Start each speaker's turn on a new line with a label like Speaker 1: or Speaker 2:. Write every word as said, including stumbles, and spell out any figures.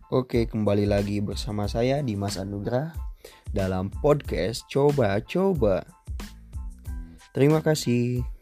Speaker 1: Oke, kembali lagi bersama saya Dimas Anugrah dalam podcast Coba Coba. Terima kasih.